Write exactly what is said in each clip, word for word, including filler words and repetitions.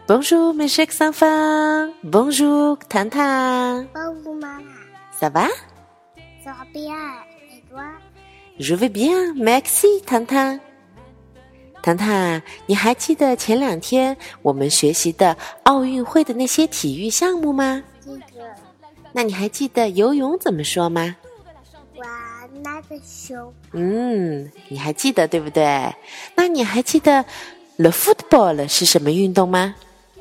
Bonjour, mes chers enfants. Bonjour, 糖糖。 Bonjour, maman. Ça va? Ça va bien. Et toi? Je vais bien, merci, 糖糖。糖糖，你还记得前两天我们学习的奥运会的那些体育项目吗？ 记得。 那你还记得游泳怎么说吗？ 我那个熊。 嗯，你还记得对不对？那你还记得 le football 是什么运动吗？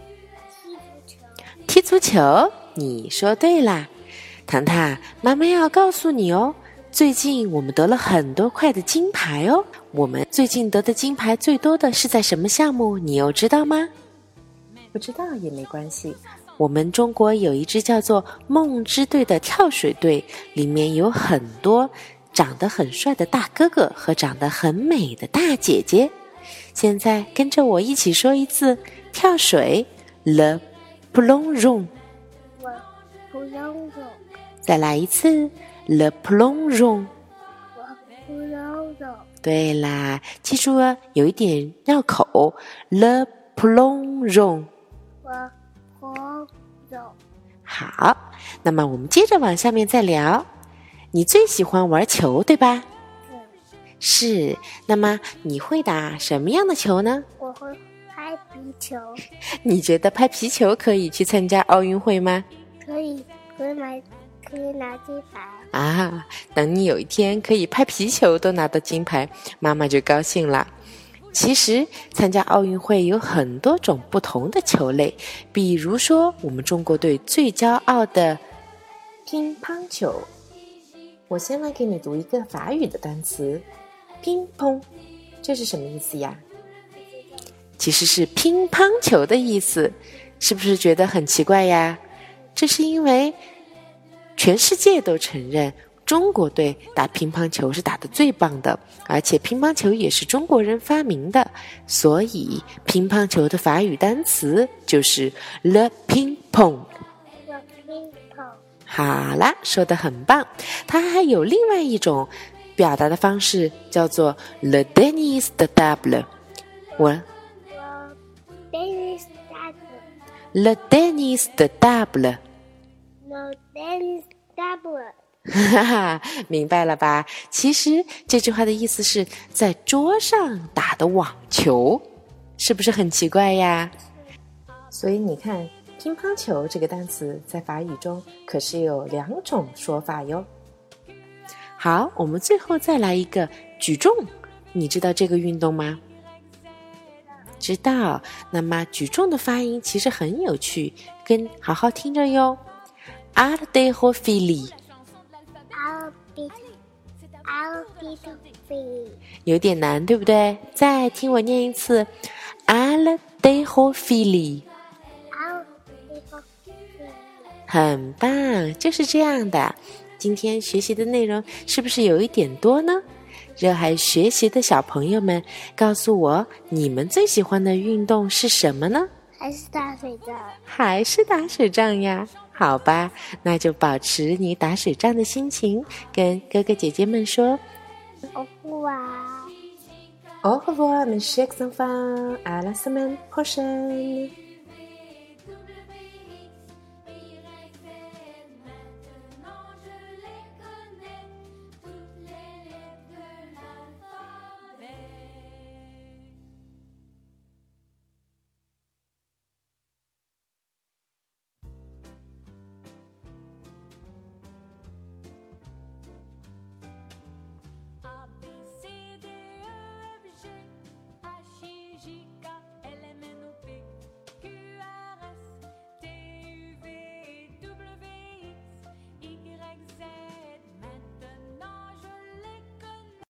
踢足球。 踢足球，你说对啦。糖糖，妈妈要告诉你哦，最近我们得了很多块的金牌哦。我们最近得的金牌最多的是在什么项目？你又知道吗？不知道也没关系。我们中国有一支叫做梦之队的跳水队，里面有很多长得很帅的大哥哥和长得很美的大姐姐。现在跟着我一起说一次跳水 Le plongeon。 我不用走。 再来一次 Le plongeon。 我不用走。 对啦，记住了，有一点绕口 Le plongeon。 我不走。 好，那么我们接着往下面再聊。你最喜欢玩球对吧？ 嗯。 是，那么你会打什么样的球呢？ 我会拍皮球。 你觉得拍皮球可以去参加奥运会吗？ 可以，可以买，可以拿金牌。 啊，等你有一天可以拍皮球都拿到金牌，妈妈就高兴了。其实参加奥运会有很多种不同的球类，比如说我们中国队最骄傲的乒乓球。我先来给你读一个法语的单词，乒乓，这是什么意思呀？其实是乒乓球的意思，是不是觉得很奇怪呀？这是因为全世界都承认中国队打乒乓球是打得最棒的，而且乒乓球也是中国人发明的，所以乒乓球的法语单词就是 le ping-pong。 Le ping-pong。 好啦，说得很棒。它还有另外一种表达的方式，叫做 le tennis de table。 我我 tennis table。 le tennis de table。 No tennis table。 哈哈，明白了吧？其实这句话的意思是在桌上打的网球，是不是很奇怪呀？所以你看，乒乓球这个单词在法语中可是有两种说法哟。好，我们最后再来一个举重，你知道这个运动吗？知道。那么举重的发音其实很有趣，跟好好听着哟。Haltérophilie。有点难，对不对？再听我念一次 Haltérophilie。 很棒，就是这样的。今天学习的内容是不是有一点多呢？热爱学习的小朋友们，告诉我你们最喜欢的运动是什么呢？ 还是打水仗。 还是打水仗呀？好吧，那就保持你打水仗的心情，跟哥哥姐姐们说 Au revoir。 Au revoir, mes chers enfants, à la semaine prochaine。